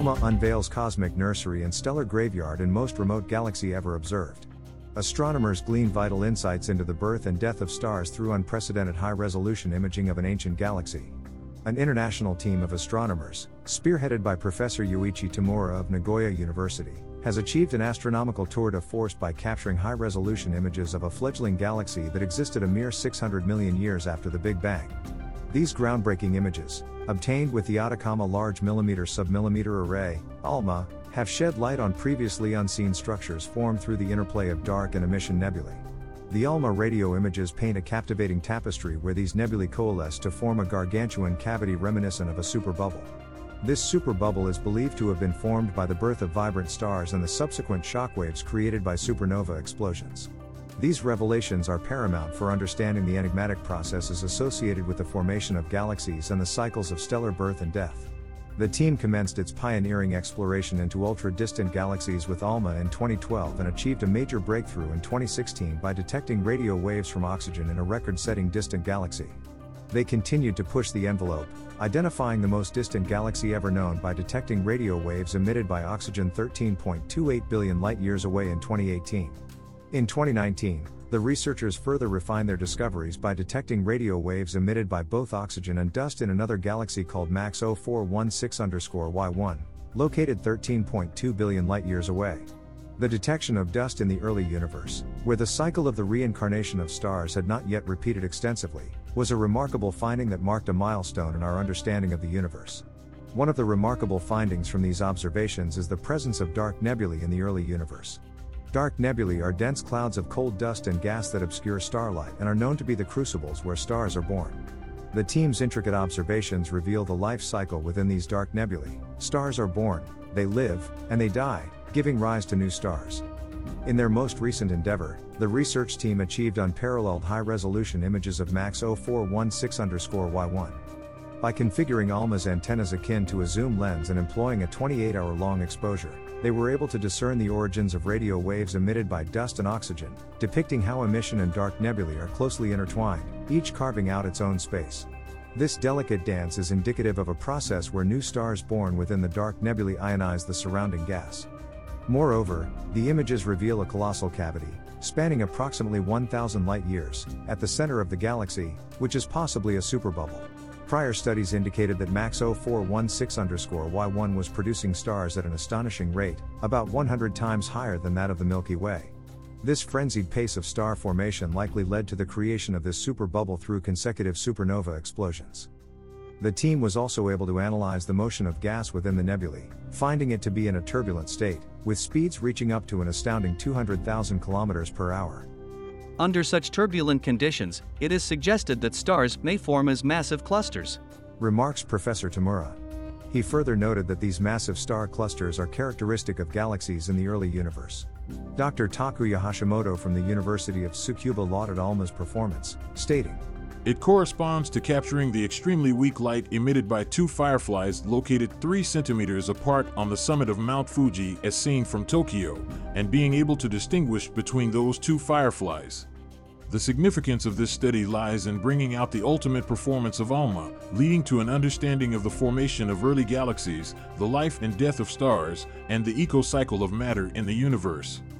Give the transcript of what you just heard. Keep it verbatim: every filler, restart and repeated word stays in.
ALMA unveils cosmic nursery and stellar graveyard in most remote galaxy ever observed. Astronomers glean vital insights into the birth and death of stars through unprecedented high-resolution imaging of an ancient galaxy. An international team of astronomers, spearheaded by Professor Yuichi Tamura of Nagoya University, has achieved an astronomical tour de force by capturing high-resolution images of a fledgling galaxy that existed a mere six hundred million years after the Big Bang. These groundbreaking images, obtained with the Atacama Large Millimeter Submillimeter Array, ALMA, have shed light on previously unseen structures formed through the interplay of dark and emission nebulae. The ALMA radio images paint a captivating tapestry where these nebulae coalesce to form a gargantuan cavity reminiscent of a superbubble. This superbubble is believed to have been formed by the birth of vibrant stars and the subsequent shockwaves created by supernova explosions. These revelations are paramount for understanding the enigmatic processes associated with the formation of galaxies and the cycles of stellar birth and death. The team commenced its pioneering exploration into ultra-distant galaxies with ALMA in twenty twelve and achieved a major breakthrough in twenty sixteen by detecting radio waves from oxygen in a record-setting distant galaxy. They continued to push the envelope, identifying the most distant galaxy ever known by detecting radio waves emitted by oxygen thirteen point two eight billion light-years away in twenty eighteen. In twenty nineteen, the researchers further refined their discoveries by detecting radio waves emitted by both oxygen and dust in another galaxy called MAX zero four one six Y one, located thirteen point two billion light-years away. The detection of dust in the early universe, where the cycle of the reincarnation of stars had not yet repeated extensively, was a remarkable finding that marked a milestone in our understanding of the universe. One of the remarkable findings from these observations is the presence of dark nebulae in the early universe. Dark nebulae are dense clouds of cold dust and gas that obscure starlight and are known to be the crucibles where stars are born. The team's intricate observations reveal the life cycle within these dark nebulae. Stars are born, they live, and they die, giving rise to new stars. In their most recent endeavor, the research team achieved unparalleled high-resolution images of MAX zero four one six Y one. By configuring ALMA's antennas akin to a zoom lens and employing a twenty-eight hour long exposure, they were able to discern the origins of radio waves emitted by dust and oxygen, depicting how emission and dark nebulae are closely intertwined, each carving out its own space. This delicate dance is indicative of a process where new stars born within the dark nebulae ionize the surrounding gas. Moreover, the images reveal a colossal cavity, spanning approximately one thousand light-years, at the center of the galaxy, which is possibly a superbubble. Prior studies indicated that MAX zero four one six Y one was producing stars at an astonishing rate, about one hundred times higher than that of the Milky Way. This frenzied pace of star formation likely led to the creation of this superbubble through consecutive supernova explosions. The team was also able to analyze the motion of gas within the nebulae, finding it to be in a turbulent state, with speeds reaching up to an astounding two hundred thousand kilometers per hour. Under such turbulent conditions, it is suggested that stars may form as massive clusters, remarks Professor Tamura. He further noted that these massive star clusters are characteristic of galaxies in the early universe. Doctor Takuya Hashimoto from the University of Tsukuba lauded ALMA's performance, stating, "It corresponds to capturing the extremely weak light emitted by two fireflies located three centimeters apart on the summit of Mount Fuji as seen from Tokyo, and being able to distinguish between those two fireflies. The significance of this study lies in bringing out the ultimate performance of ALMA, leading to an understanding of the formation of early galaxies, the life and death of stars, and the eco-cycle of matter in the universe."